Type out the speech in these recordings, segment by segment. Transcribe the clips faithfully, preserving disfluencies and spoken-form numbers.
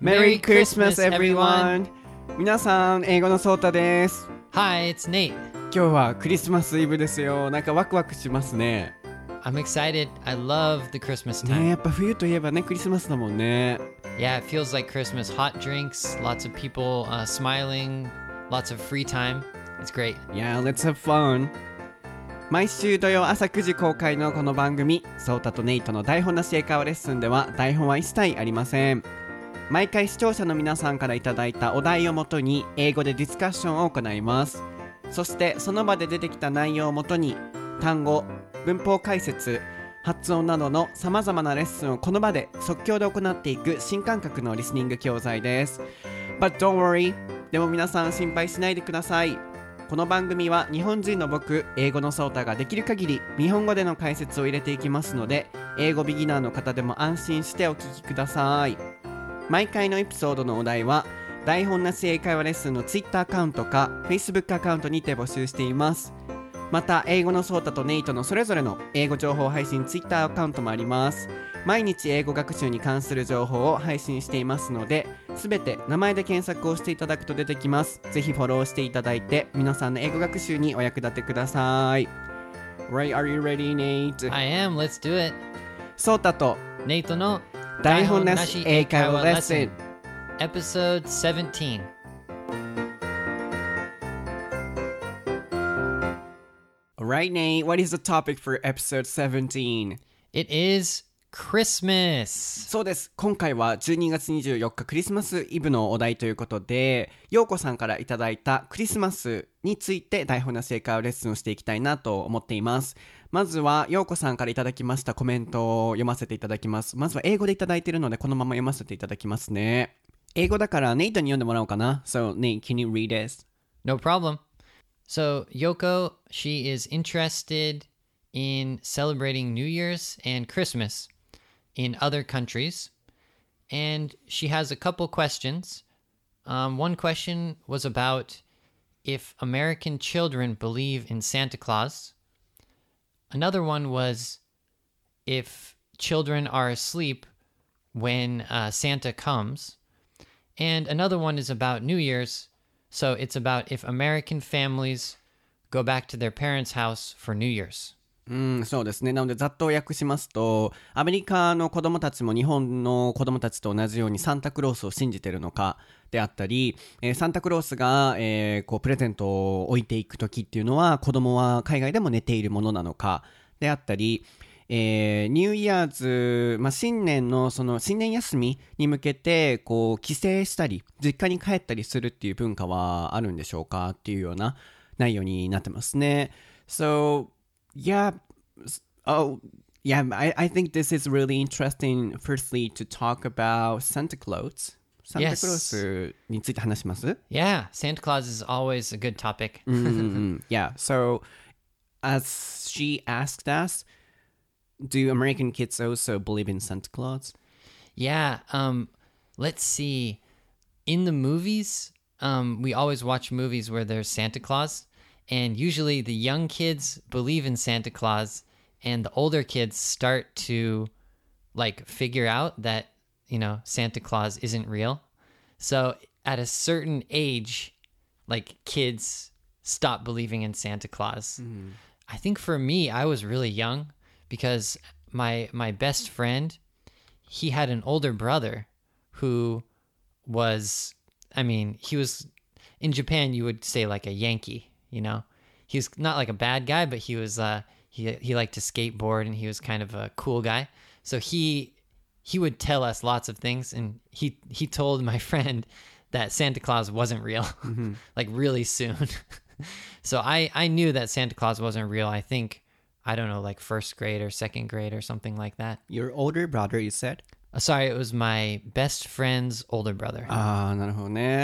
Merry Christmas, everyone! 皆さん、英語のソータです。 Hi, it's Nate. 今日はクリスマスイブですよ。なんかワクワクしますね。 I'm excited. I love the Christmas time. ね、やっぱ冬といえばね、クリスマスだもんね。 Yeah, it feels like Christmas. Hot drinks, lots of people uh, smiling, lots of free time. It's great. Yeah, let's have fun. 毎週土曜朝くじ公開のこの番組、ソータとネイトの台本なし英会話レッスンでは台本は一切ありません。毎回視聴者の皆さんからいただいたお題をもとに英語でディスカッションを行います。そしてその場で出てきた内容をもとに単語、文法解説、発音などのさまざまなレッスンをこの場で即興で行っていく新感覚のリスニング教材です。 But don't worry. でも皆さん心配しないでください。この番組は日本人の僕、英語のソータができる限り日本語での解説を入れていきますので、英語ビギナーの方でも安心してお聞きください。毎回のエピソードのお題は台本なし英会話レッスンの Twitter アカウントか Facebook アカウントにて募集しています。また英語のソータとネイトのそれぞれの英語情報配信 Twitter アカウントもあります。毎日英語学習に関する情報を配信していますので、すべて名前で検索をしていただくと出てきます。ぜひフォローしていただいて皆さんの英語学習にお役立てください。 Right, are you ready, Nate? I am. Let's do it. ソータとネイトの台本なし英会話レッスン Episode seventeen. Alright, Nate, what is the topic for episode seventeen? It is Christmas. そうです。今回はじゅうにがつにじゅうよっかクリスマスイブのお題ということで、ようこさんからいただいたクリスマスについて台本なし英会話レッスンをしていきたいなと思っています。まずはようこさんからいただきましたコメントを読ませていただきます。まずは英語でいただいているのでこのまま読ませていただきますね。英語だからネイトに読んでもらおうかな。So, Nate, can you read this? No problem. So, Yoko, she is interested in celebrating New Year's and Christmas in other countries, and she has a couple questions. Um, one question was about if American children believe in Santa Claus. Another one was if children are asleep when uh, Santa comes. And another one is about New Year's. So it's about if American families go back to their parents' house for New Year's. うん、そうですね。なのでざっと訳しますと、アメリカの子供たちも日本の子供たちと同じようにサンタクロースを信じてるのかであったり、えー、サンタクロースが、えー、こうプレゼントを置いていくときっていうのは子供は海外でも寝ているものなのかであったり、えー、ニューイヤーズ、まあ、新年のその新年休みに向けてこう帰省したり実家に帰ったりするっていう文化はあるんでしょうかっていうような内容になってますね。So Yeah, oh, yeah, I, I think this is really interesting, firstly, to talk about Santa Claus. Santa Yes. Claus について話します Yeah, Santa Claus is always a good topic. mm-hmm. Yeah, so as she asked us, do American kids also believe in Santa Claus? Yeah, um, let's see. In the movies, um, we always watch movies where there's Santa Claus. And usually the young kids believe in Santa Claus and the older kids start to like figure out that, you know, Santa Claus isn't real. So at a certain age, like kids stop believing in Santa Claus. Mm. I think for me, I was really young because my my best friend, he had an older brother who was, I mean, he was, in Japan, you would say like a Yankee. You know, he was not like a bad guy, but he was uh, he he liked to skateboard and he was kind of a cool guy. So he he would tell us lots of things, and he he told my friend that Santa Claus wasn't real, mm-hmm. like really soon. So I I knew that Santa Claus wasn't real. I think I don't know, like first grade or second grade or something like that. Your older brother, you said? Uh, sorry, it was my best friend's older brother. ああ、なるほどね。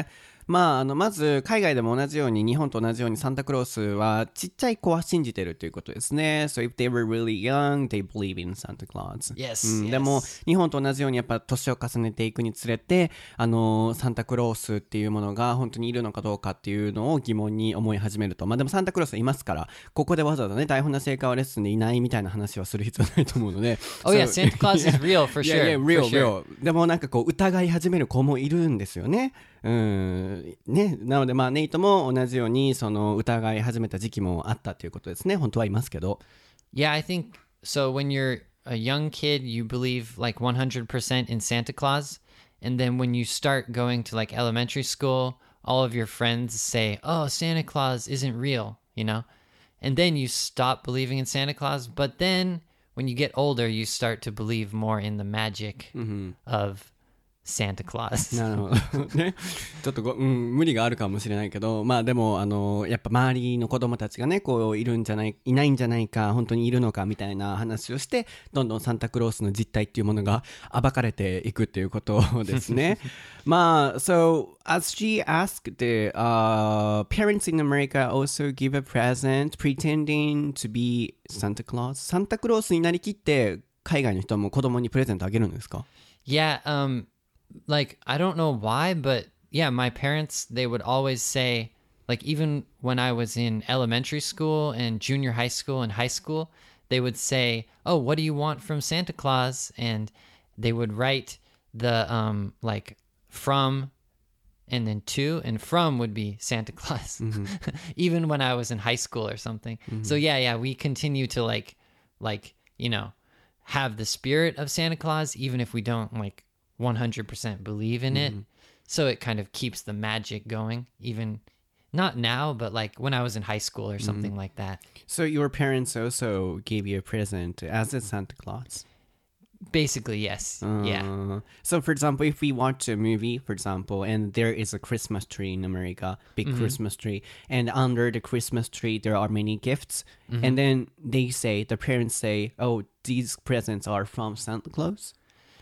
まあ、あのまず海外でも同じように日本と同じようにサンタクロースはちっちゃい子は信じてるということですね。So if they were really young, they believe in Santa Claus. Yes, うん、 yes. でも日本と同じようにやっぱ年を重ねていくにつれて、あのサンタクロースっていうものが本当にいるのかどうかっていうのを疑問に思い始めると。まあでもサンタクロースはいますから、ここでわざわざね台本なし英会話レッスンでいないみたいな話はする必要ないと思うので。 Oh yeah, Santa Claus is real for sure. Yeah, yeah, real, for sure. real. でもなんかこう疑い始める子もいるんですよね。うんね、なのでまあネイトも同じようにその疑い始めた時期もあったということですね。本当はいますけど。 Yeah, I think so. When you're a young kid, you believe like one hundred percent in Santa Claus, and then when you start going to like elementary school, all of your friends say, "Oh, Santa Claus isn't real," you know, and then you stop believing in Santa Claus. But then when you get older, you start to believe more in the magic of Santa Claus. なるほどね。ちょっとご、うん、無理があるかもしれないけど、まあでもあのやっぱ周りの子供たちがねこういるんじゃないいないんじゃないか、本当にいるのかみたいな話をして、どんどんサンタクロースの実態っていうものが暴かれていくっていうことですね。まあ so as she asked, the uh, parents in America also give a present pretending to be Santa Claus. サンタクロースになりきって海外の人も子供にプレゼントあげるんですか？ Yeah, um, like, I don't know why, but yeah, my parents, they would always say, like, even when I was in elementary school and junior high school and high school, they would say, "Oh, what do you want from Santa Claus?" And they would write the, um, like, from and then to, and from would be Santa Claus, even when I was in high school or something. So yeah, yeah, we continue to like, like, you know, have the spirit of Santa Claus, even if we don't like one hundred percent believe in it. So it kind of keeps the magic going, even not now, but like when I was in high school or something like that. So your parents also gave you a present as a Santa Claus? Basically, yes. Yeah. Uh, so for example, if we watch a movie, for example, and there is a Christmas tree in America, big Christmas tree, and under the Christmas tree there are many gifts, and then they say, the parents say, "Oh, these presents are from Santa Claus."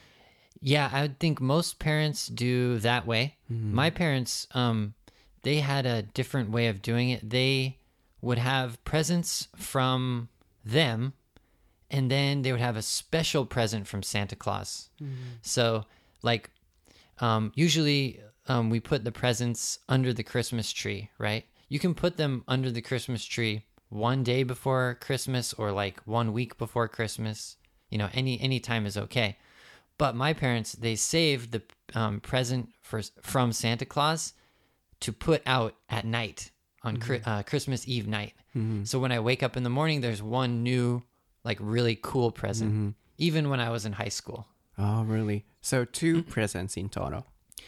Yeah, I would think most parents do that way. My parents, um, they had a different way of doing it. They would have presents from them, and then they would have a special present from Santa Claus. So, like, um, usually um, we put the presents under the Christmas tree, right? You can put them under the Christmas tree one day before Christmas or like one week before Christmas. You know, any any time is okay. But my parents, they saved the um, present for, from Santa Claus to put out at night on mm-hmm. uh, Christmas Eve night. Mm-hmm. So when I wake up in the morning, there's one new, like, really cool present, mm-hmm. even when I was in high school. Oh, really? So two presents in total.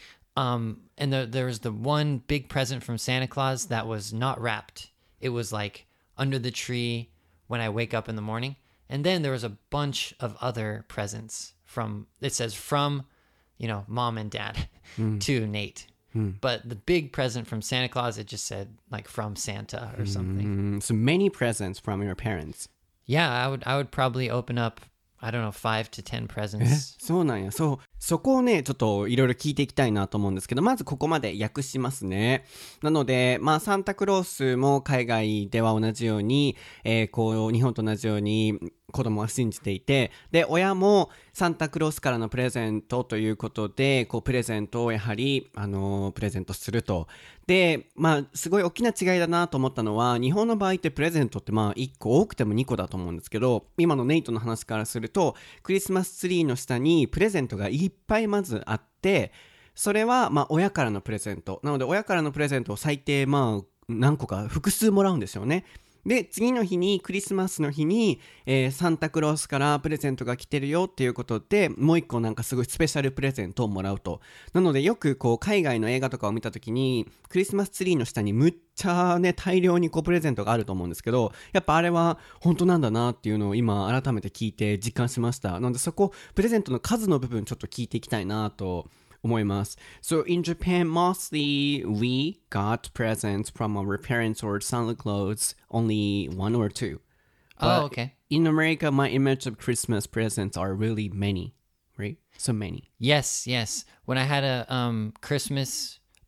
Um, and the, there was the one big present from Santa Claus that was not wrapped. It was like under the tree when I wake up in the morning. And then there was a bunch of other presents from, it says from, you know, mom and dad mm. to Nate. Mm. But the big present from Santa Claus, it just said like from Santa or something. Mm, so many presents from your parents. Yeah, I would I would probably open up, I don't know, five to ten presents. そうなんや。そう、そこをね、ちょっといろいろ聞いていきたいなと思うんですけど、まずここまで訳しますね。なので、まあサンタクロースも海外では同じように、えー、こう日本と同じように子供は信じていて、で親もサンタクロースからのプレゼントということで、こうプレゼントをやはりあのー、プレゼントすると。で、まあすごい大きな違いだなと思ったのは、日本の場合ってプレゼントってまあいっこ多くてもにこだと思うんですけど、今のネイトの話からすると、クリスマスツリーの下にプレゼントがいっぱいまずあって、それはまあ親からのプレゼントなので、親からのプレゼントを最低まあ何個か複数もらうんですよね。で次の日にクリスマスの日に、えー、サンタクロースからプレゼントが来てるよっていうことで、もう一個なんかすごいスペシャルプレゼントをもらうと。なのでよくこう海外の映画とかを見たときに、クリスマスツリーの下にむっちゃね大量にこうプレゼントがあると思うんですけど、やっぱあれは本当なんだなっていうのを今改めて聞いて実感しました。なのでそこプレゼントの数の部分ちょっと聞いていきたいなと思います。So in Japan, mostly we got presents from our parents or Santa Claus, only one or two. Oh, okay. In America, my image of Christmas presents are really many, right? So many. Yes, yes. When I had a um, Christmas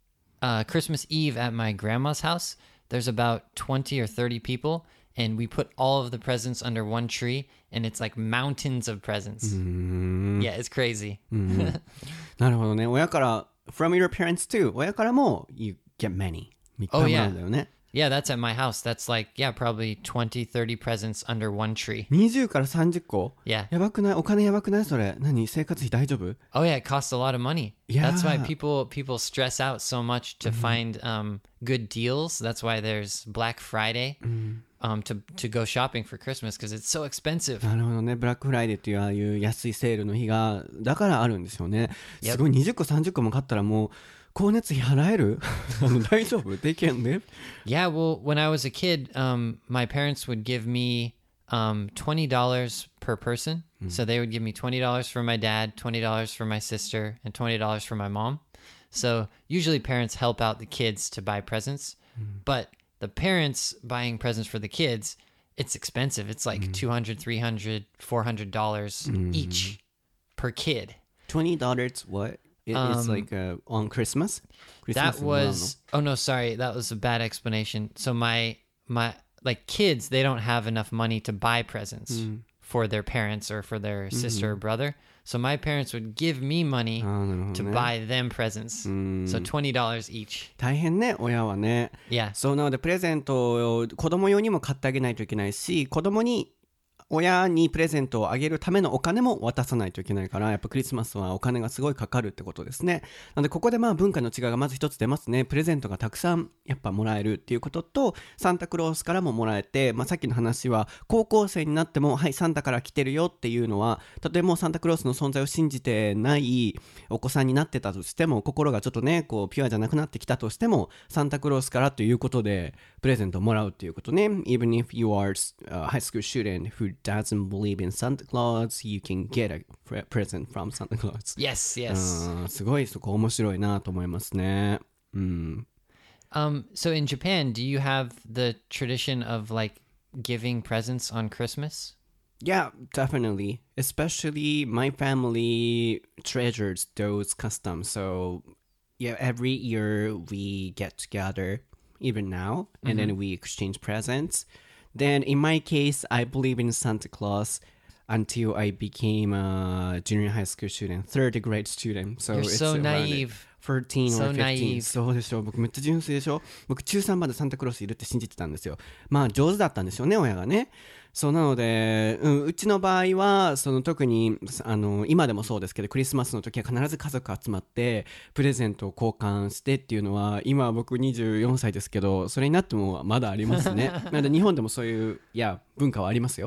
uh, Christmas Eve at my grandma's house, there's about twenty or thirty people, and we put all of the presents under one tree, and it's like mountains of presents. Yeah, it's crazy. なるほどね。親から from your parents too. 親からも you get many. いっぱいもらうんだよね。 Yeah, that's at my house. That's like, yeah, probably twenty, thirty presents under one tree. にじゅうからさんじゅっこ Yeah. やばくないお金やばくないそれ。何生活費大丈夫 Oh yeah, it costs a lot of money. Yeah. That's why people people stress out so much to find um, good deals. That's why there's Black Friday um, to to go shopping for Christmas because it's so expensive. なるほどね。ブラックフライデーっていうああいう安いセールの日がだからあるんですよね。すごいにじゅっこさんじゅっこも買ったらもう光熱費払えるあの大丈夫 They can live? Yeah, well, when I was a kid, um, my parents would give me um, twenty dollars per person. So they would give me twenty dollars for my dad, twenty dollars for my sister, and twenty dollars for my mom. So usually parents help out the kids to buy presents. But the parents buying presents for the kids, it's expensive. It's like two hundred, three hundred, four hundred dollars each per kid. twenty dollars what? It, it's like uh, on Christmas? Christmas That was oh no, sorry, that was a bad explanation. So my my like kids, they don't have enough money to buy presents for their parents or for their sister or brother. So my parents would give me money to buy them presents. So twenty dollars each. 大変ね親はね。 Yeah. そうなのでプレゼントを子供用にも買ってあげないといけないし、子供に親にプレゼントをあげるためのお金も渡さないといけないから、やっぱクリスマスはお金がすごいかかるってことですね。なのでここでまあ文化の違いがまず一つ出ますね。プレゼントがたくさんやっぱもらえるっていうことと、サンタクロースからももらえて、まあ、さっきの話は高校生になってもはいサンタから来てるよっていうのは、たとえもうサンタクロースの存在を信じてないお子さんになってたとしても、心がちょっとねこうピュアじゃなくなってきたとしても、サンタクロースからということでプレゼントをもらうっていうことね。 Even if you are a high school student who doesn't believe in Santa Claus, you can get a pre- present from Santa Claus. Yes, yes. うん、すごいそこ面白いなと思いますね。うん。 Um, so in Japan, do you have the tradition of like giving presents on Christmas? Yeah, definitely. Especially my family treasures those customs. So yeah, every year we get together, even now, and then we exchange presents. Then in my case, I believe in Santa Claus until I became a junior high school student, third grade student. So You're it's so around naive. thirteen So or fifteen. naive. そうでしょ。僕めっちゃ純粋でしょ。僕中さんまでサンタクロースいるって信じてたんですよ。まあ上手だったんですよね、親がね。そうなので、うん、うちの場合はその特にあの今でもそうですけど、クリスマスの時は必ず家族集まってプレゼントを交換してっていうのは、今は僕にじゅうよんさいですけど、それになってもまだありますね。なので日本でもそういういや文化はありますよ。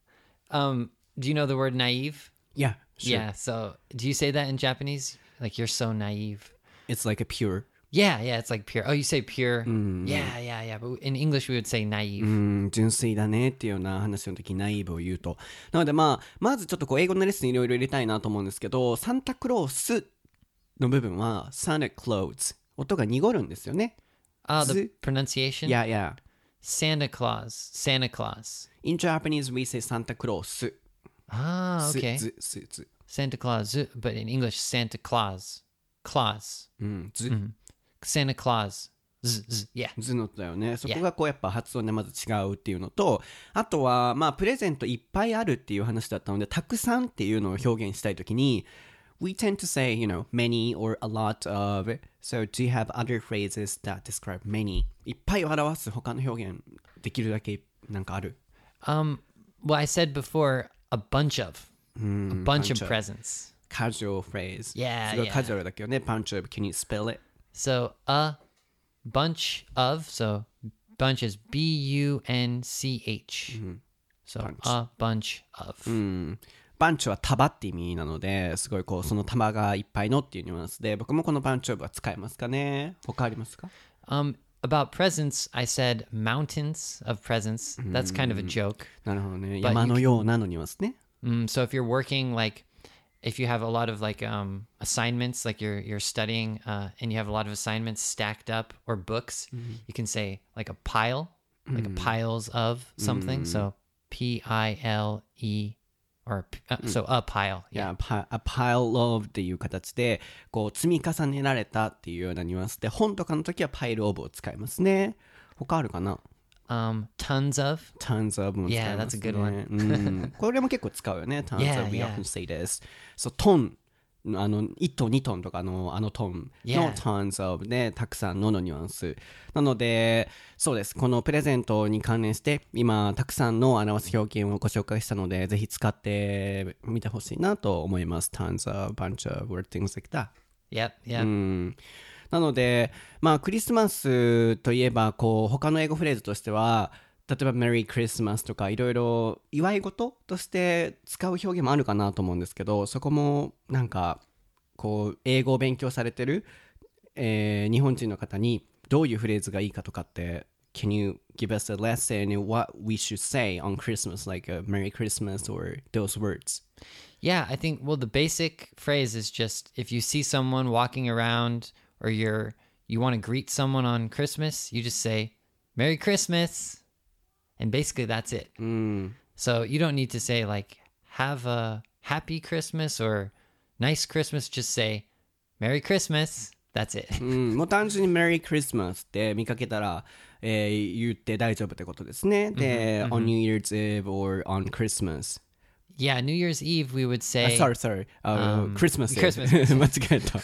Um, do you know the word naive? Yeah, sure. Yeah. So do you say that in Japanese? Like you're so naive. It's like a pure. Yeah, yeah. It's like pure. Oh, you say pure. Yeah, yeah, yeah. But in English, we would say naive. うん純粋だねっていうような話の時にナイーブを言うと、なのでまあまずちょっとこう英語のレッスンいろいろ入れたいなと思うんですけど、サンタクロースの部分は Santa Claus 音が濁るんですよね。 Ah, the Z- pronunciation? Yeah, yeah. Santa Claus. Santa Claus. In Japanese we say Santa Claus. Ah, okay. ずずず Santa Claus. But in English, Santa Claus. Claus. うんず Santa Claus. Z, z, yeah. ずの音だよね。そこがこうやっぱ発音でまず違うっていうのと、あとはまあプレゼントいっぱいあるっていう話だったので、たくさんっていうのを表現したいときに We tend to say, you know, many or a lot of. So do you have other phrases that describe many? いっぱいを表す他の表現できるだけなんかある？ Um, well, I said before, a bunch of. a bunch, bunch of of. presents. Casual phrase. Yeah, すごい yeah. カジュアルだけどね。Bunch of. Can you spell it? So a bunch of, so bunch is B U N C H. So Bunch. a bunch of. うんバンチは束って意味なので、すごいこうその束がいっぱいのっていうニュアンスで、僕もこのバンチオブは使えますかね。他ありますか？ Um, about presents, I said mountains of presents. That's kind of a joke. なるほどね。 But 山のようなのニュアンスね。 Mm, so if you're working, like, if you have a lot of like um, assignments, like you're you're studying, uh, and you have a lot of assignments stacked up or books, you can say like a pile, like a piles of something. So P I L E or uh, so a pile. Yeah, a pile of っていう形でこう積み重ねられたっていうようなニュアンスで、本とかの時は pile of を使いますね。他あるかな？ Um, tons of. Tons of も使いますね。 Yeah, that's a good one. うん、これも結構使うよね。Tons Yeah, of, we yeah. often say this. So, トン。あのいちトンにトンとかのあのトンの tons of でたくさんののニュアンスなので、そうです。このプレゼントに関連して今たくさんの表す表現をご紹介したので、ぜひ使ってみてほしいなと思います。 tons of, bunch of, or things like that. Yep, yep. うんなのでまあクリスマスといえばこう他の英語フレーズとしては、例えば Merry Christmas とかいろいろ祝い事として使う表現もあるかなと思うんですけど、そこもなんかこう英語を勉強されてる、えー、日本人の方にどういうフレーズがいいかとかって Can you give us a lesson in what we should say on Christmas, like a Merry Christmas or those words? Yeah, I think, well, the basic phrase is just if you see someone walking around or you're you want to greet someone on Christmas, you just say Merry Christmas.And basically that's it. Mm. So you don't need to say like, have a happy Christmas or nice Christmas. Just say, Merry Christmas. That's it. うん、もう単純に Merry Christmas って見かけたら、えー、言って大丈夫ってことですね。で、mm-hmm, on New Year's Eve or on Christmas. Yeah, New Year's Eve we would say... Uh, sorry, sorry. Uh, um, Christmas. Christmas. 間違えた。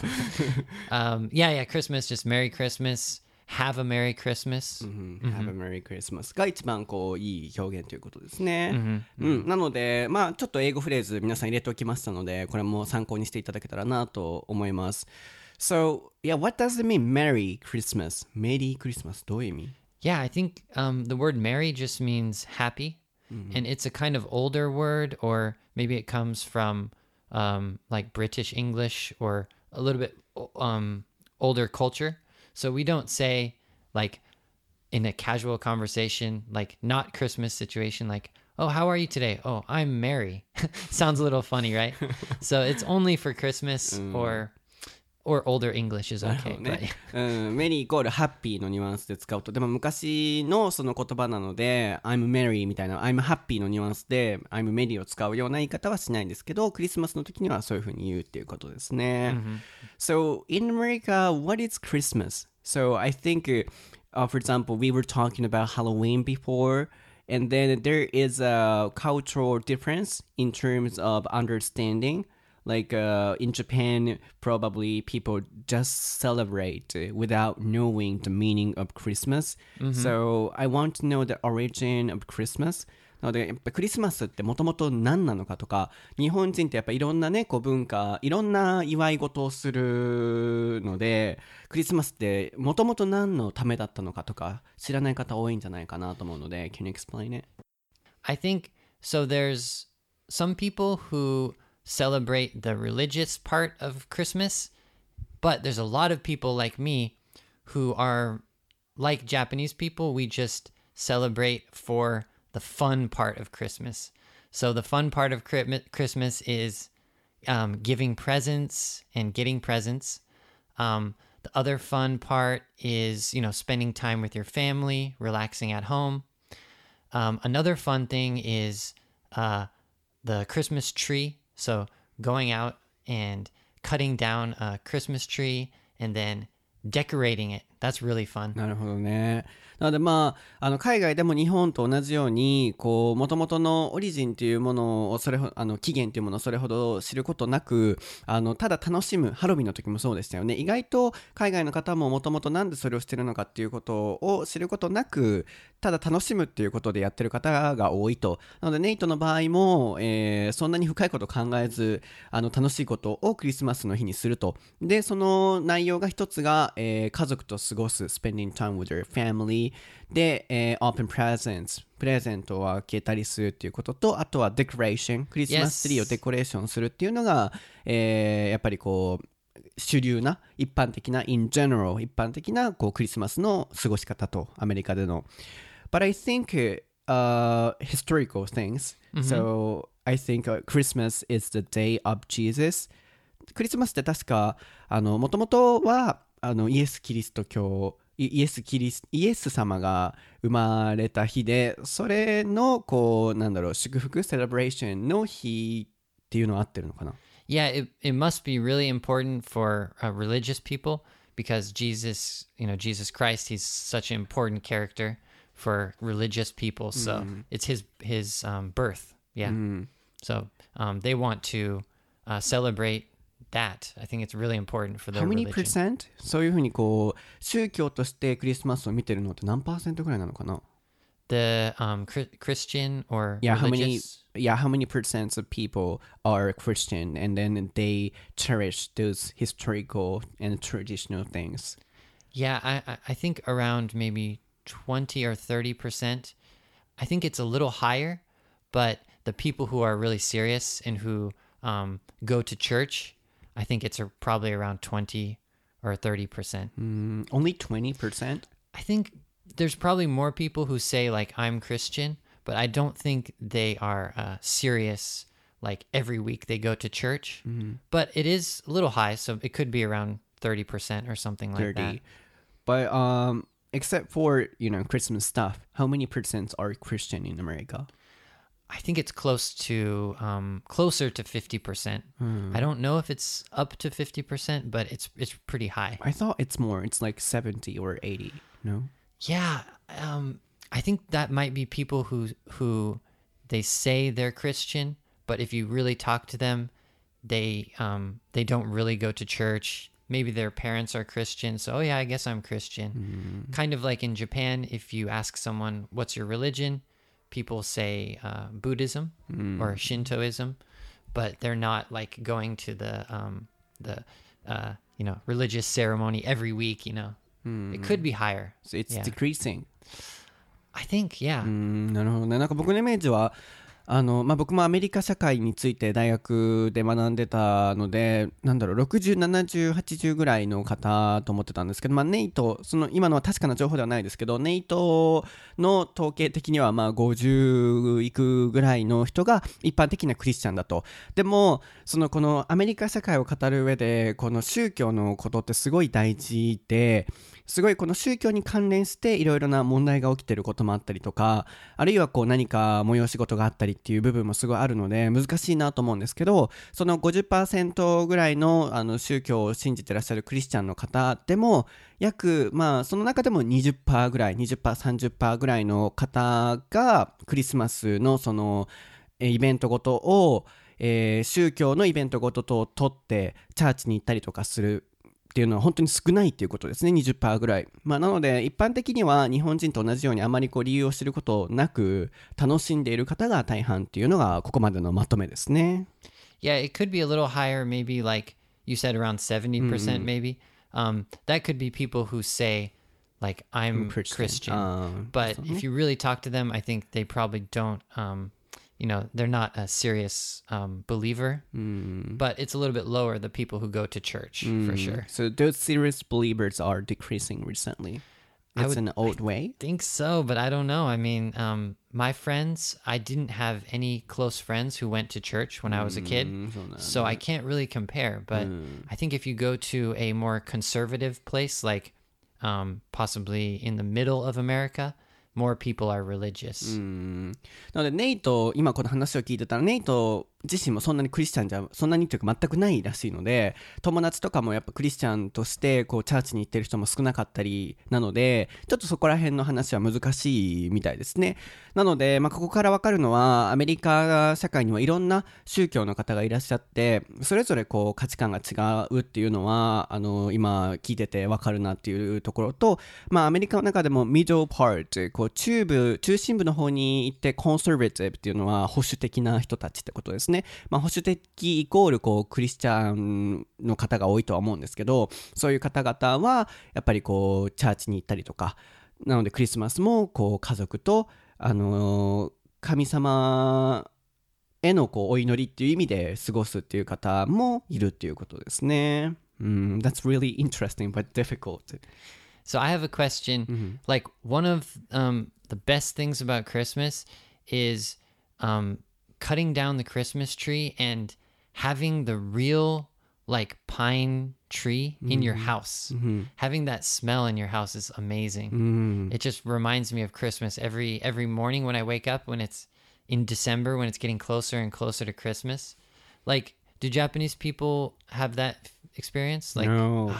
um, yeah, yeah, Christmas, just Merry Christmas.Have a Merry Christmas、mm-hmm. Have a Merry Christmas が一番こういい表現ということですね、mm-hmm. うん、なのでまあちょっと英語フレーズ皆さん入れておきましたので、これも参考にしていただけたらなと思います。 So yeah, what does it mean Merry Christmas? Merry Christmas どういう意味？ Yeah, I think、um, the word merry just means happy、mm-hmm. and it's a kind of older word, or maybe it comes from、um, like British English or a little bit、um, older culture.So we don't say like in a casual conversation, like not Christmas situation, like, oh, how are you today? Oh, I'm merry. Sounds a little funny, right? So it's only for Christmas、mm. or or older English is okay. ねうん、メリーイコールハッピーのニュアンスで使うと、でも昔のその言葉なので I'm merry みたいな I'm happy のニュアンスで I'm merry を使うような言い方はしないんですけど、クリスマスの時にはそういう風に言うっていうことですね、mm-hmm. So in America, what is Christmas? So I think、uh, for example, we were talking about Halloween before, and then there is a cultural difference in terms of understanding.Like、uh, in Japan, probably people just celebrate without knowing the meaning of Christmas.、Mm-hmm. So I want to know the origin of Christmas. なのでやっぱクリスマスってもともと何なのかとか、日本人ってやっぱいろんなねこう文化、いろんな祝い事をするので、クリスマスってもともと何のためだったのかとか知らない方多いんじゃないかなと思うので、 Can you explain it? I think so. There's some people who...celebrate the religious part of Christmas, but there's a lot of people like me who are like Japanese people. We just celebrate for the fun part of Christmas. So the fun part of Christmas is um, giving presents and getting presents. Um, the other fun part is, you know, spending time with your family, relaxing at home. Um, another fun thing is uh, the Christmas tree.So going out and cutting down a Christmas tree and then decorating it. That's really fun. なるほどね。なのでまあ、あの海外でも日本と同じようにこう元々のオリジンというものをそれほあの起源というものをそれほど知ることなく、あのただ楽しむ、ハロウィンの時もそうでしたよね。意外と海外の方も元々なんでそれをしてるのかっていうことを知ることなく、ただ楽しむっていうことでやってる方が多いと。なのでネイトの場合も、えー、そんなに深いことを考えず、あの楽しいことをクリスマスの日にすると。でその内容が一つが、えー、家族と過ごす spending time with your family で、えー、open presents プレゼントを開けたりするっていうことと、あとは decoration クリスマスツリーをデコレーションするっていうのが、えー、やっぱりこう主流な一般的な in general 一般的なこうクリスマスの過ごし方とアメリカでの But I think、uh, historical things、mm-hmm. So I think、uh, Christmas is the day of Jesus クリスマスって確かあのもともとはあのイエス・キリスト教イイエスキリスイエス様が生まれた日で、それのこうなんだろう祝福セレブレーションの日っていうのは合ってるのかな？ Yeah, it, it must be really important for uh, religious people because Jesus, you know, Jesus Christ, he's such an important character for religious people. So it's his his um, birth. Yeah. So um, they want to uh, celebrate that. I think it's really important for their How many religion. percent? そういうふうにこう宗教としてクリスマスを見てるのって何パーセントぐらいなのかな？ The um, Chri- Christian or Yeah, how many religious? yeah, how many percent of people are Christian and then they cherish those historical and traditional things? Yeah, I I- I think around maybe twenty or thirty percent. I think it's a little higher, but the people who are really serious and who um, go to church, I think it's a, probably around twenty or thirty percent. Mm, only twenty percent? I think there's probably more people who say like I'm Christian, but I don't think they are uh, serious. Like every week they go to church, but it is a little high, so it could be around thirty percent or something like that. thirty. But um except for, you know, Christmas stuff, how many percent are Christian in America? I think it's close to um, closer to fifty percent. I don't know if it's up to fifty percent, but it's it's pretty high. I thought it's more. It's like seventy or eighty. No? Yeah, um, I think that might be people who who they say they're Christian, but if you really talk to them, they um, they don't really go to church. Maybe their parents are Christian, so oh yeah, I guess I'm Christian. Kind of like in Japan, if you ask someone, "What's your religion?" people say uh, Buddhism or Shintoism, but they're not like going to the um, the uh, you know religious ceremony every week. You know, it could be higher. So it's Yeah. decreasing. I think, yeah. うーん、なるほどね。なんか僕のイメージはあの、まあ、僕もアメリカ社会について大学で学んでたので、なんだろう、ろくじゅう、ななじゅう、はちじゅうぐらいの方と思ってたんですけど、まあ、ネイト、その今のは確かな情報ではないですけど、ネイトの統計的にはまあごじゅういくぐらいの人が一般的なクリスチャンだと。でもそのこのアメリカ社会を語る上でこの宗教のことってすごい大事で、すごいこの宗教に関連していろいろな問題が起きてることもあったりとか、あるいはこう何か催し事があったりっていう部分もすごいあるので難しいなと思うんですけど、その ごじゅっパーセント ぐらいの、あの宗教を信じてらっしゃるクリスチャンの方でも約、まあその中でも にじゅっパーセント ぐらい にじゅっパーセント、さんじゅっパーセント ぐらいの方がクリスマスのそのえイベントごとを、えー宗教のイベントごとと取ってチャーチに行ったりとかするっていうのは本当に少ないっていうことですね。 にじゅっパーセント ぐらい、まあ、なので一般的には日本人と同じようにあまりこう理由を知ることなく楽しんでいる方が大半っていうのがここまでのまとめですね。 Yeah, it could be a little higher, maybe like you said around seventy percent maybe. Um, that could be people who say like I'm Christian. Christian. Um, but if you really talk to them, I think they probably don't um, you know, they're not a serious um, believer. But it's a little bit lower the people who go to church for sure. So those serious believers are decreasing recently. I It's would- an old way. Think so, but I don't know. I mean, um, my friends, I didn't have any close friends who went to church when I was a kid, そうなんだ so I can't really compare. But I think if you go to a more conservative place, like um, possibly in the middle of America, more people are religious. なのでネイト今この話を聞いてたらネイト自身もそんなにクリスチャンじゃそんなにというか全くないらしいので、友達とかもやっぱクリスチャンとしてこうチャーチに行ってる人も少なかったりなので、ちょっとそこら辺の話は難しいみたいですね。なので、まあ、ここから分かるのはアメリカ社会にはいろんな宗教の方がいらっしゃって、それぞれこう価値観が違うっていうのはあの今聞いてて分かるなっていうところと、まあ、アメリカの中でもミドルパート、こう中部中心部の方に行ってコンサバティブっていうのは保守的な人たちってことですね。まあ、保守的イコールこうクリスチャンの方が多いとは思うんですけど、そういう方々はやっぱりこうチャーチに行ったりとか、なのでクリスマスもこう家族と、あのー神様へのこうお祈りっていう意味で過ごすっていう方もいるっていうことですね。Mm, that's really interesting but difficult. So I have a question. Like one of um, the best things about Christmas is um, cutting down the Christmas tree and having the real like pine tree in your house. Having that smell in your house is amazing. It just reminds me of Christmas every every morning when I wake up, when it's in December, when it's getting closer and closer to Christmas. Like, do Japanese people have that experience? Like, no.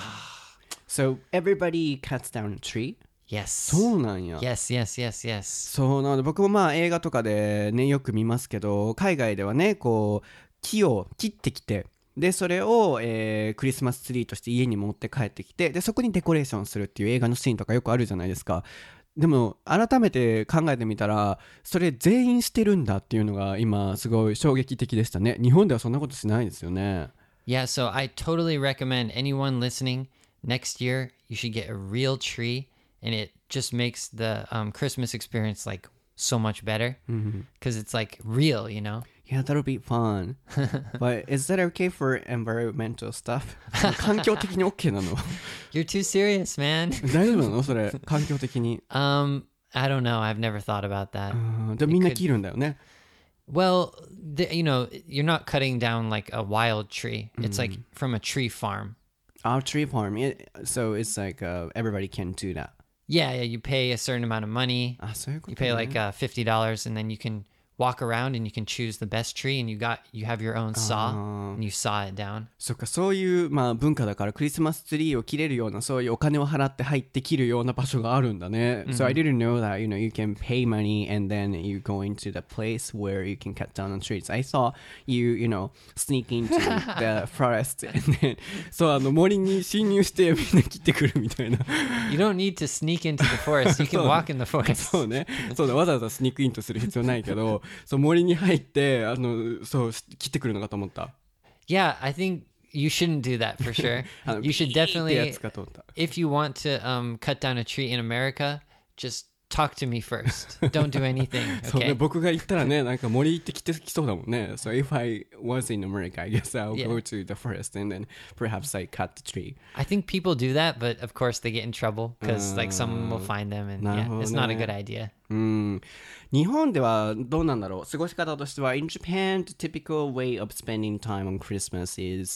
So everybody cuts down a tree? yes. そうなんや。 Yes, yes, yes, yes. そうなので、僕もまあ映画とかでねよく見ますけど、海外ではねこう木を切ってきて、でそれを、えークリスマスツリーとして家に持って帰ってきて、でそこにデコレーションするっていう映画のシーンとかよくあるじゃないですか。でも改めて考えてみたら、それ全員してるんだっていうのが今すごい衝撃的でしたね。日本ではそんなことしないですよね。 Yeah, so I totally recommend anyone listening, next year you should get a real tree, and it just makes the um, Christmas experience like so much better because it's like real, you know? Yeah, that'll be fun. But is that okay for environmental stuff? 環境的に OK なの？ You're too serious, man. 大丈夫なのそれ、環境的に。 um, I don't know. I've never thought about that. うんでもみんな切るんだよね。 Well, the, you know, you're not cutting down like a wild tree. It's like from a tree farm. Our tree farm, it, so it's like uh, everybody can do that. Yeah, yeah. You pay a certain amount of money. あ、そういうこ You とね。 pay like uh, fifty dollars, and then you can walk around and you can choose the best tree, and you got you have your own saw, and you saw it down. そっか、そういう、まあ、文化だからクリスマスツリーを切れるような、そういうお金を払って入って切るような場所があるんだね。So I didn't know that, you know, you can pay money and then you go into the place where you can cut down the trees. I saw you, you know, sneak into the forest and then そう、あの森に侵入してみんな切ってくるみたいな。 You don't need to sneak into the forest. You can walk in the forest. そうね、そうだ、わざわざスニークインとする必要ないけど、そう森に入ってあのそう切ってくるのかと思った。 Yeah, I think you shouldn't do that for sure. あの You should ピーってや definitely, つかと思った。 if you want to um, cut down a tree in America, just talk to me first. Don't do anything, そうね、 okay? 僕が行ったらね、なんか森行ってきてきそうだもんね。So if I was in America, I guess I'll Yeah. go to the forest and then perhaps I cut the tree. I think people do that, but of course they get in trouble because like someone will find them, and yeah, it's not a good idea. うん日本ではどうなんだろう。過ごし方としては In Japan, the typical way of spending time on Christmas is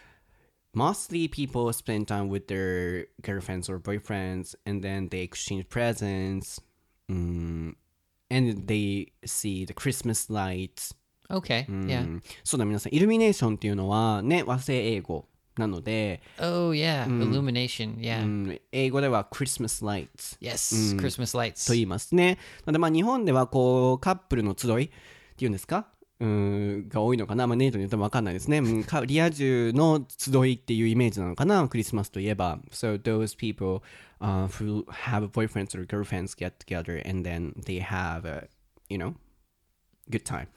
mostly people spend time with their girlfriends or boyfriends and then they exchange presents、うん、and they see the Christmas lights、 Okay, うん yeah. そうだ、皆さんイルミネーションっていうのはね、和製英語なので、 Oh yeah, illumination. Yeah. うん英語では Christmas lights Yes, Christmas と lights. 言いますね。なのでまあ日本ではこうカップルの集いっていうんですか、うーんが多いのかな。まあネイトに言っても分かんないですね。うんかリア充の集いっていうイメージなのかな、クリスマスといえば。So those people、uh, who have boyfriends or girlfriends get together and then they have a, you know, good time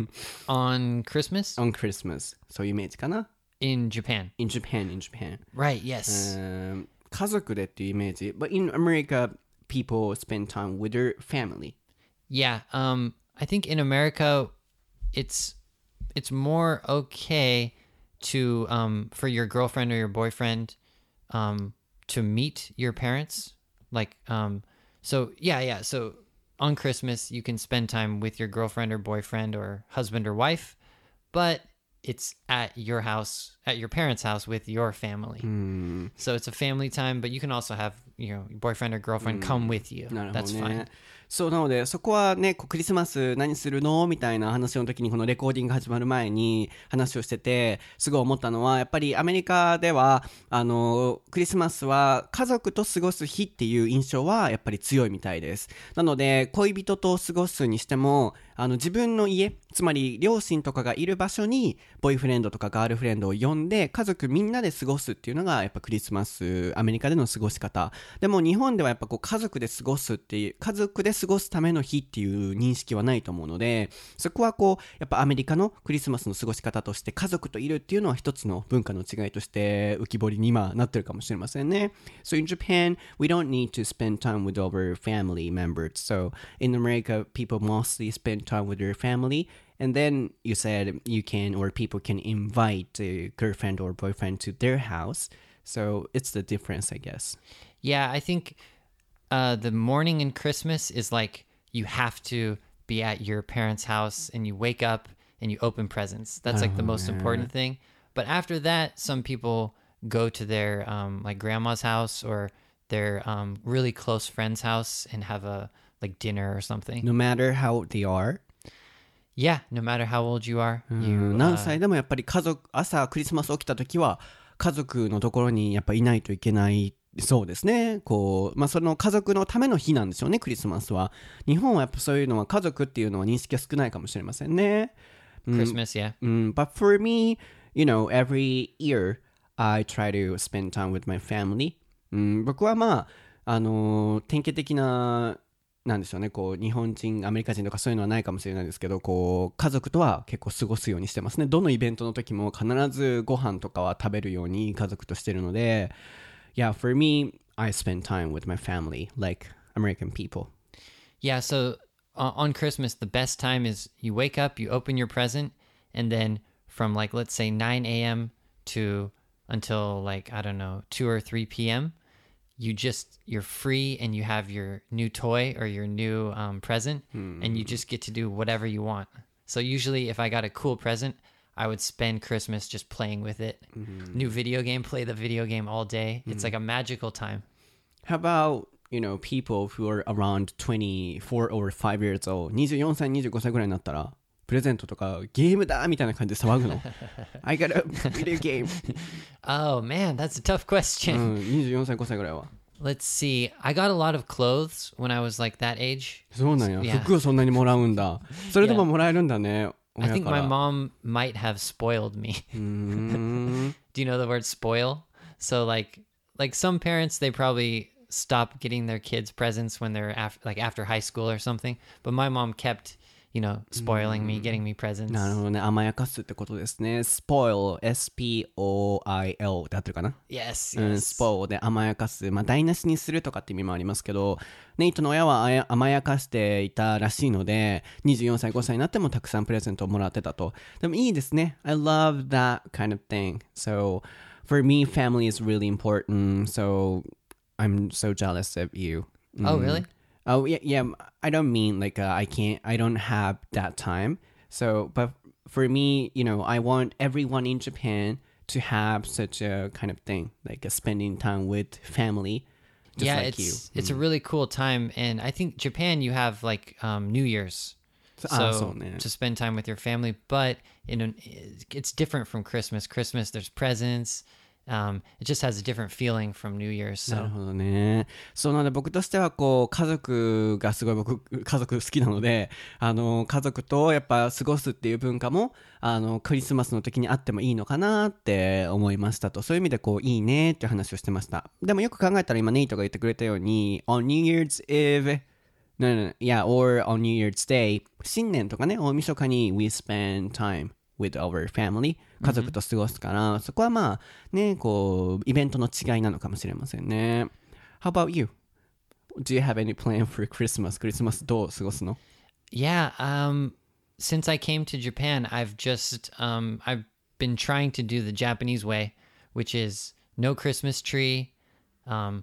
On Christmas on Christmas. そういうイメージかな。 in Japan. In Japan, in Japan. Right, yes. うん家族でっていうイメージ。But in America, people spend time with their family. Yeah, um I think in America it's it's more okay to um for your girlfriend or your boyfriend um to meet your parents. Like um so yeah, yeah. So on Christmas you can spend time with your girlfriend or boyfriend or husband or wife, but it's at your house, at your parents' house with your family. So it's a family time, but you can also have, you know, your boyfriend or girlfriend come with you. なるほど That's ね fine. そうなのでそこはね、こうクリスマス何するのみたいな話の時にこのレコーディング始まる前に話をしててすごい思ったのは、やっぱりアメリカではあのクリスマスは家族と過ごす日っていう印象はやっぱり強いみたいです。なので恋人と過ごすにしてもあの自分の家、つまり両親とかがいる場所にボーイフレンドとかガールフレンドを呼んで家族みんなで過ごすっていうのがやっぱクリスマスアメリカでの過ごし方でも、日本ではやっぱこう家族で過ごすっていう家族で過ごすための日っていう認識はないと思うので、そこはこうやっぱアメリカのクリスマスの過ごし方として家族といるっていうのは一つの文化の違いとして浮き彫りに今なってるかもしれませんね。 So in Japan we don't need to spend time with our family members. So in America people mostly spend time with their family, and then you said you can or people can invite a girlfriend or boyfriend to their house. So it's the difference, I guess. Yeah, I think uh, the morning in Christmas is like you have to be at your parents' house and you wake up and you open presents. That's like the most important thing. But after that, some people go to their um, like grandma's house or their um, really close friend's house and have a like dinner or something. No matter how old they are. Yeah, no matter how old you are. う You, ん、 uh, 何歳でもやっぱり家族、朝クリスマス起きた時は家族のところにやっぱいないといけない。そうですね。こう、まあその家族のための日なんでしょうね、クリスマスは。日本はやっぱそういうのは家族っていうのは認識が少ないかもしれませんね。うん、 Christmas, yeah. うん、but for me, you know, every year I try to spend time with my family. うん、僕はまあ、あのー典型的な、なんでしょうね、こう、日本人、アメリカ人とかそういうのはないかもしれないですけど、こう、家族とは結構過ごすようにしてますね。どのイベントの時も必ずご飯とかは食べるように家族としてるので、Yeah, for me, I spend time with my family, like American people. Yeah, so uh, on Christmas, the best time is you wake up, you open your present, and then from like, let's say nine a.m. to until like, I don't know, two or three p.m., you just, you're free and you have your new toy or your new um, present, and you just get to do whatever you want. So usually if I got a cool present, I would spend Christmas just playing with it. New video game, play the video game all day. It's like a magical time. How about, you know, people who are around twenty-four or five years old? にじゅうよんさい、にじゅうごさいぐらいになったら、プレゼントとかゲームだみたいな感じで騒ぐの。I got a video game. Oh man, that's a tough う question. ん、にじゅうよんさい、ごさいぐらいは。 Let's see. I got a lot of clothes when I was like that age. そうなんや。 Yeah. 服をそんなにもらうんだ。それでももらえるんだね。 I 親 think か my ら。 mom might have spoiled me. うーん。 Do you know the word spoil? So like like some parents they probably stop getting their kids presents when they're af- like after high school or something. But my mom kept, you know, spoiling me, getting me presents. なるほどね。甘やかすってことですね。spoil, S P O I L って合ってるかな。 Yes, うん、 yes. spoil で甘やかす。まあ、台無しにするとかって意味もありますけど、ネイトの親はあや甘やかしていたらしいので、にじゅうよんさい、ごさいになってもたくさんプレゼントをもらってたと。でもいいですね。I love that kind of thing. So, for me, family is really important. So, I'm so jealous of you. Oh, really? Oh, yeah, yeah. I don't mean like uh, I can't, I don't have that time. So, but for me, you know, I want everyone in Japan to have such a kind of thing, like uh, spending time with family, just yeah, like it's you. it's a really cool time, and I think Japan you have like um, New Year's, So, so ah, so, yeah. to spend time with your family. But in an, it's different from Christmas. Christmas there's presents. Um, it just has a different feeling from New Year's. なる So ほどね。そうなので僕としてはこう家族がすごい僕家族好きなので、あの家族とやっぱ過ごすっていう文化もあのクリスマスの時にあってもいいのかなって思いましたと。そういう意味でこういいねっていう話をしてました。でもよく考えたら今ネイトが言ってくれたように on New Year's Eve no no no yeah or on New Year's Day 新年とかね大晦日に we spend time with our family 家族と過ごすから、mm-hmm. そこはまあねこうイベントの違いなのかもしれませんね。 How about you? Do you have any plan for Christmas? クリスマスどう過ごすの？ yeah, um, since I came to Japan, I've just um, I've been trying to do the Japanese way, which is no Christmas tree. Um,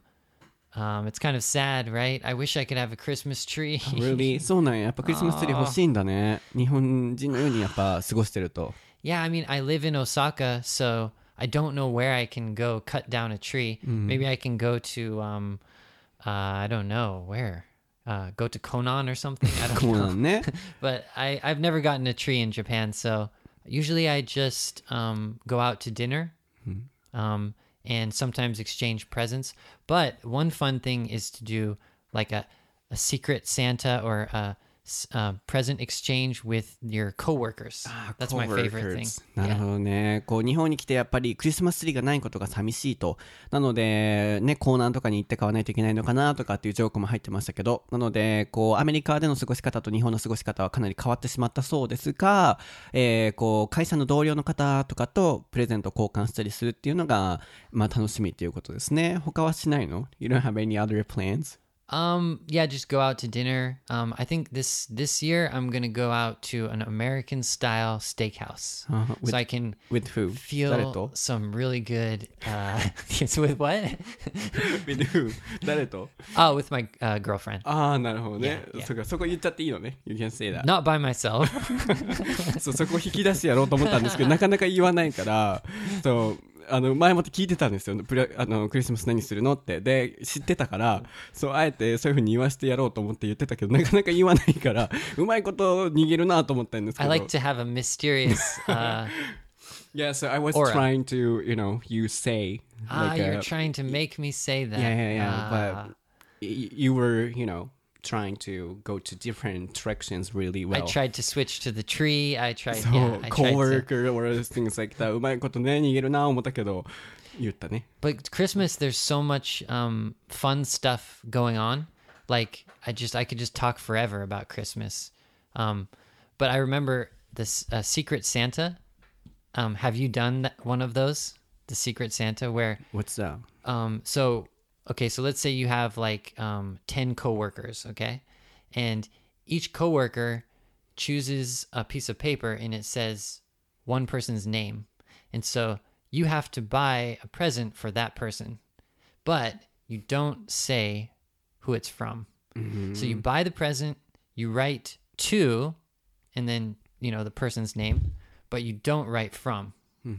um, it's kind of sad, right? I wish I could have a Christmas tree. Really? そうなんや。やっぱクリスマスツリー欲しいんだね。日本人のようにやっぱ過ごしてると。 Yeah, I mean, I live in Osaka, so I don't know where I can go cut down a tree. Mm. Maybe I can go to, um, uh, I don't know, where? Uh, go to Konan or something? I don't こうな know. んね。 But I, I've never gotten a tree in Japan, so usually I just um, go out to dinner um, and sometimes exchange presents. But one fun thing is to do like a, a secret Santa or a Uh, present exchange with your coworkers. That's my favorite thing. なるほどね。こう日本に来てやっぱりクリスマスツリーがないことが寂しいと。なのでね、コーナーとかに行って買わないといけないのかなとかっていうジョークも入ってましたけど、なのでこうアメリカでの過ごし方と日本の過ごし方はかなり変わってしまったそうですが、えー、こう会社の同僚の方とかとプレゼント交換したりするっていうのがまあ楽しみっていうことですね。他はしないの？ You don't have any other plans? Um, yeah, just go out to dinner. Um, I think this this year I'm gonna go out to an American style steakhouse, Uh-huh. With- so I can With who? 誰 feel と some really good. Uh, yes, with what? With who? 誰と Oh, with my uh, girlfriend. ああ、なるほどね。 Yeah, yeah. そうか、そこ言っちゃっていいのね。You can say that. Not by myself. そうそこ引き出してやろうと思ったんですけどなかなか言わないからそうあの前もって聞いてたんですよプレあのクリスマス何するのってで知ってたからそうあえてそういうふうに言わせてやろうと思って言ってたけどなかなか言わないからうまいこと逃げるなと思ったんですけ I ど like to have a mysterious. Uh, Yeah, so I was Aura. trying to, you know, you say ah, like you're a- trying to make me say that. Yeah, yeah, yeah. Ah. But y- you were, you know, trying to go to different directions really I well. tried to switch to the tree. I tried. So, yeah, I tried to. coworker or things like that. うまいことね、逃げるな思ったけど、言ったね。 But Christmas, there's so much um, fun stuff going on. Like I just, I could just talk forever about Christmas. Um, but I remember this uh, Secret Santa. Um, have you done that, one of those? The Secret Santa, where What's that? um, so okay, so let's say you have like um, ten coworkers, okay, and each coworker chooses a piece of paper and it says one person's name, and so you have to buy a present for that person, but you don't say who it's from. So you buy the present, you write to, and then you know the person's name, but you don't write from.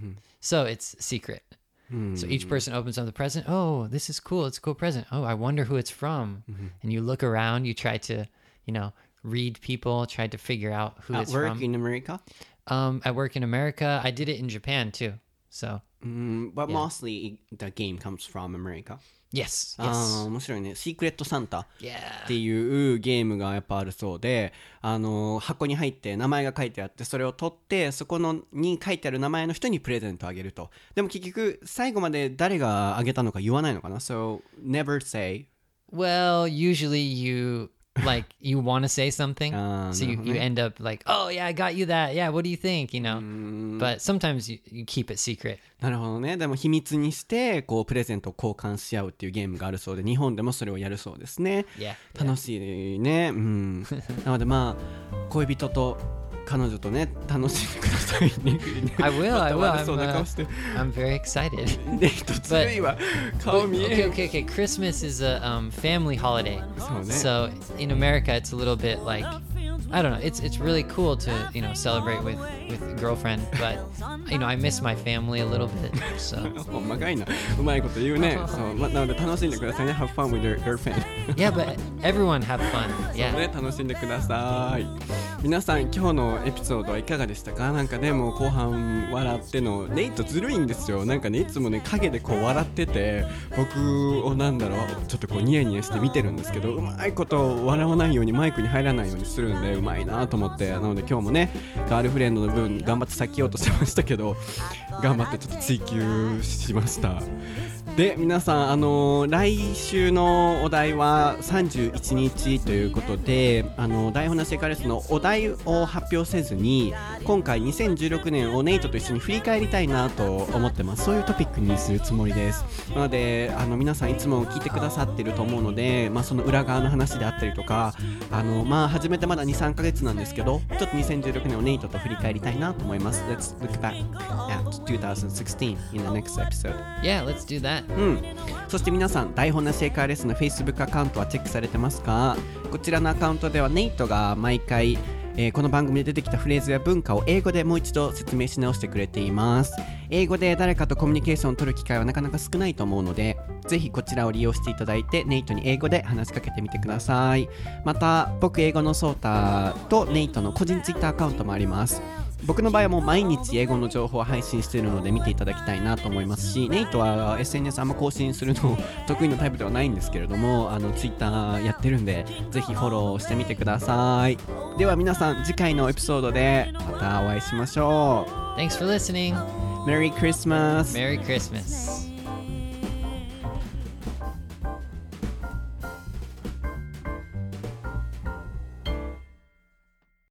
So it's secret. So each person opens up the present. Oh, this is cool. It's a cool present. Oh, I wonder who it's from. And you look around, you try to, you know, read people, try to figure out who At it's work from. in America? Um, I work in America. I did it in Japan too. So Mm, but Yeah. mostly the game comes from America. yes, あ yes, ー面白いね。シークレットサンタ。 yeah. っていうゲームがやっぱあるそうで、あの箱に入って名前が書いてあってそれを取ってそこのに書いてある名前の人にプレゼントあげると。でも結局最後まで誰があげたのか言わないのかな。 So never say. Well, usually you like you want to say something, Ah, so you, no, you no. end up like, oh yeah, I got you that. Yeah, what do you think? You know, but sometimes you, you keep it secret. なるほどね。でも秘密にしてこうプレゼントを交換し合うっていうゲームがあるそうで日本でもそれをやるそうですね。 Yeah. 楽しいね。うん。なのでまあ恋人と彼女とね楽しんでくださいね。 I will, I will. また悪そうな I'm, 顔 uh, して。 I'm very excited. ね一つずいわ。顔見 Okay, え。 okay, okay. Christmas is a um, family holiday. So, So in America, it's a little bit like, I don't know. It's it's really cool to you know celebrate with with a girlfriend, but you know I miss my family a little bit. So ほんまかいな。うまいこと言うね。そう、ま、なので楽しんでくださいね。Have fun with your girlfriend. yeah, but everyone have fun. そう Yeah. ね、楽しんでください。皆さん今日のエピソードはいかがでしたか？なんかねもう後半笑ってのネイトずるいんですよ。なんかねいつもね影でこう笑ってて僕をなんだろうちょっとこうニヤニヤして見てるんですけどうまいこと笑わないようにマイクに入らないようにするんでうまいなと思ってなので今日もねガールフレンドの分頑張って避けようとしてましたけど頑張ってちょっと追求しました。で皆さん、あのー、来週のお題はさんじゅういちにちということであの台本なしエカレスのお題を発表せずに今回にせんじゅうろくねんをネイトと一緒に振り返りたいなと思ってます。そういうトピックにするつもりです。なのであの皆さんいつも聞いてくださってると思うので、まあ、その裏側の話であったりとかあの、まあ、始めてまだ にさんかげつなんですけどちょっとにせんじゅうろくねんをネイトと振り返りたいなと思います。 Let's look back at twenty sixteen in the next episode. Yeah, let's do that. うん、そして皆さん台本なしエカーレスの Facebook アカウントはチェックされてますか？こちらのアカウントではネイトが毎回、えー、この番組で出てきたフレーズや文化を英語でもう一度説明し直してくれています。英語で誰かとコミュニケーションを取る機会はなかなか少ないと思うのでぜひこちらを利用していただいてネイトに英語で話しかけてみてください。また僕英語のソータとネイトの個人ツイッターアカウントもあります。僕の場合はもう毎日英語の情報を配信しているので見ていただきたいなと思いますしネイトは エスエヌエス あんま更新するの得意なタイプではないんですけれどもあのツイッターやってるんでぜひフォローしてみてください。では皆さん次回のエピソードでまたお会いしましょう。 Thanks for listening. Merry Christmas! Merry Christmas.